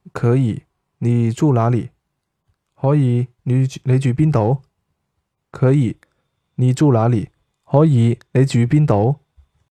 可以，你住哪裡？可以，你住邊度？可以，你住哪裡？可以，你住邊度？